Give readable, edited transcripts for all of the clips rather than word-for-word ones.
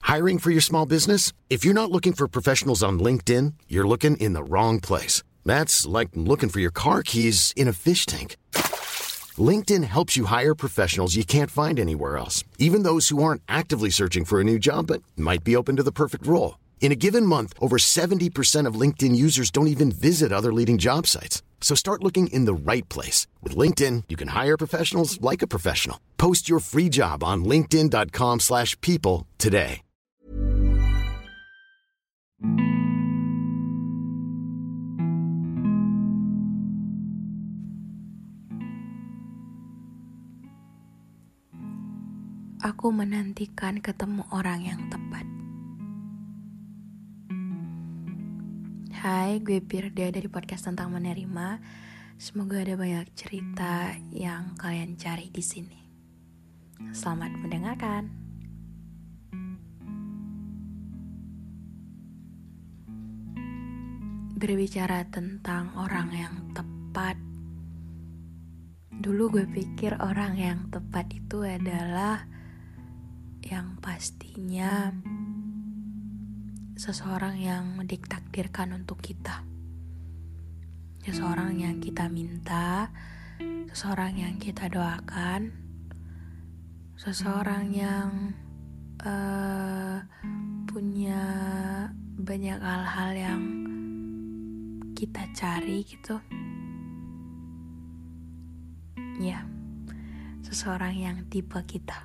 Hiring for your small business? If you're not looking for professionals on LinkedIn, you're looking in the wrong place. That's like looking for your car keys in a fish tank. LinkedIn helps you hire professionals you can't find anywhere else, even those who aren't actively searching for a new job but might be open to the perfect role. In a given month, over 70% of LinkedIn users don't even visit other leading job sites. So start looking in the right place. With LinkedIn, you can hire professionals like a professional. Post your free job on linkedin.com/people today. Aku menantikan ketemu orang yang tepat. Hai, gue Pirda dari podcast tentang menerima. Semoga ada banyak cerita yang kalian cari di sini. Selamat mendengarkan. Berbicara tentang orang yang tepat. Dulu gue pikir orang yang tepat itu adalah yang pastinya seseorang yang ditakdirkan untuk kita, seseorang yang kita minta, seseorang yang kita doakan, seseorang yang punya banyak hal-hal yang kita cari gitu. Ya, seseorang yang tipe kita.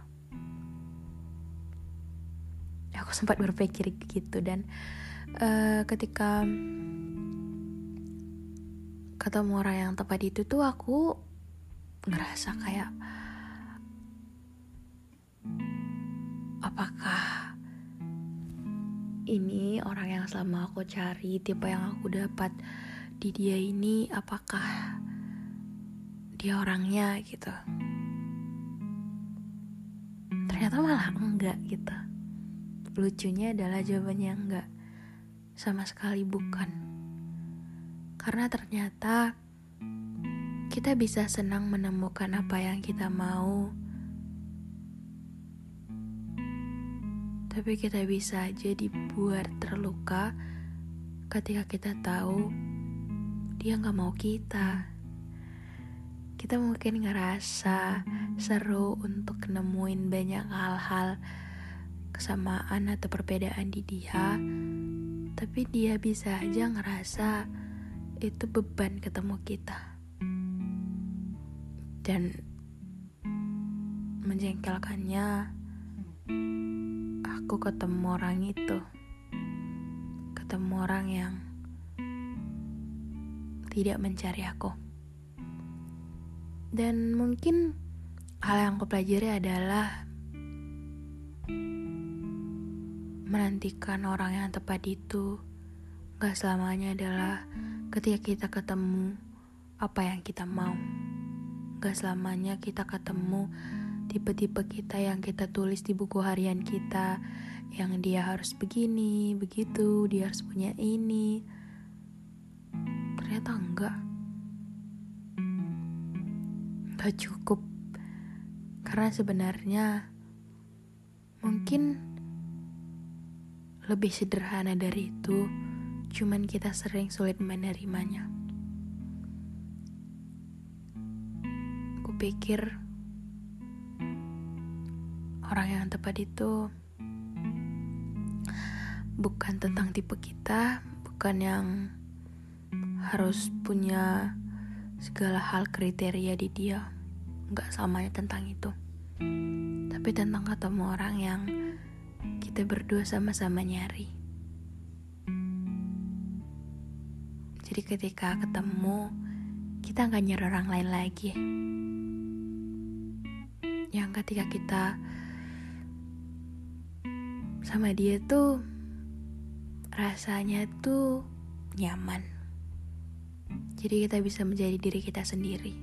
Aku sempat berpikir gitu dan ketika ketemu orang yang tepat itu tuh aku ngerasa kayak apakah ini orang yang selama aku cari, tipe yang aku dapat di dia ini, apakah dia orangnya gitu. Ternyata malah enggak gitu. Lucunya adalah jawabannya enggak, sama sekali bukan. Karena ternyata kita bisa senang menemukan apa yang kita mau, tapi kita bisa aja dibuat terluka ketika kita tahu dia gak mau kita. Kita mungkin ngerasa seru untuk nemuin banyak hal-hal kesamaan atau perbedaan di dia, tapi dia bisa aja ngerasa itu beban ketemu kita. Dan menjengkelkannya, aku ketemu orang itu, ketemu orang yang tidak mencari aku. Dan mungkin hal yang aku pelajari adalah menantikan orang yang tepat itu gak selamanya adalah ketika kita ketemu apa yang kita mau. Gak selamanya kita ketemu tipe-tipe kita yang kita tulis di buku harian kita, yang dia harus begini, begitu, dia harus punya ini. Ternyata enggak cukup. Karena sebenarnya mungkin lebih sederhana dari itu, cuman kita sering sulit menerimanya. Kupikir orang yang tepat itu bukan tentang tipe kita, bukan yang harus punya segala hal kriteria di dia. Gak selamanya tentang itu, tapi tentang ketemu orang yang kita berdua sama-sama nyari. Jadi ketika ketemu, kita gak nyari orang lain lagi. Yang ketika kita sama dia tuh rasanya tuh nyaman. Jadi kita bisa menjadi diri kita sendiri.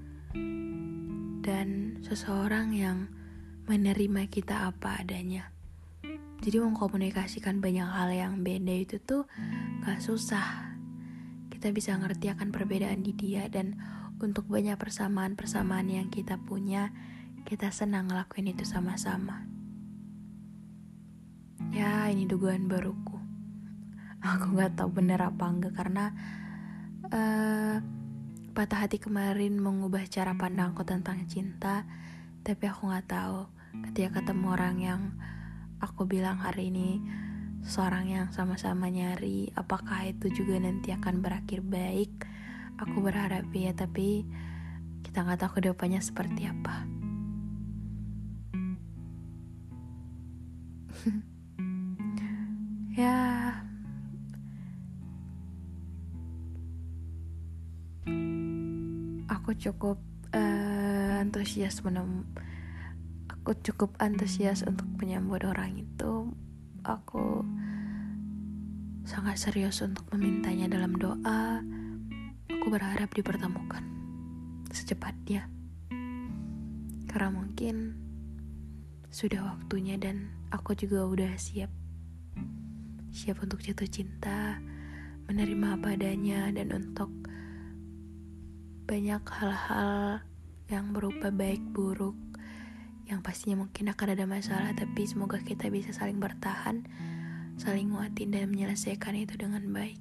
Dan seseorang yang menerima kita apa adanya. Jadi mengkomunikasikan banyak hal yang beda itu tuh gak susah. Kita bisa ngerti akan perbedaan di dia. Dan untuk banyak persamaan-persamaan yang kita punya, kita senang ngelakuin itu sama-sama. Ya, ini dugaan baruku. Aku gak tahu bener apa enggak karena patah hati kemarin mengubah cara pandangku tentang cinta. Tapi aku gak tahu ketika ketemu orang yang aku bilang hari ini seorang yang sama-sama nyari, apakah itu juga nanti akan berakhir baik. Aku berharap ya, tapi kita gak tahu kedepannya seperti apa. Ya, aku cukup antusias untuk menyambut orang itu. Aku sangat serius untuk memintanya dalam doa. Aku berharap dipertemukan secepatnya, karena mungkin sudah waktunya dan aku juga udah siap untuk jatuh cinta, menerima apa adanya, dan untuk banyak hal-hal yang berupa baik buruk yang pastinya mungkin akan ada masalah, tapi semoga kita bisa saling bertahan, saling nguatin dan menyelesaikan itu dengan baik.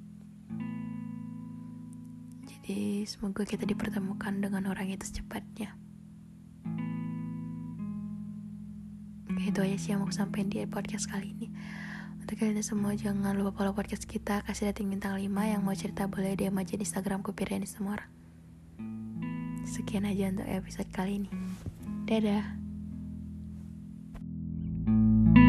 Jadi semoga kita dipertemukan dengan orang itu secepatnya. Itu aja sih yang mau sampaikan di podcast kali ini. Untuk kalian semua, jangan lupa follow podcast kita, kasih rating bintang 5. Yang mau cerita boleh DM aja di Instagramku Piriani Semora. Sekian aja untuk episode kali ini. Dadah.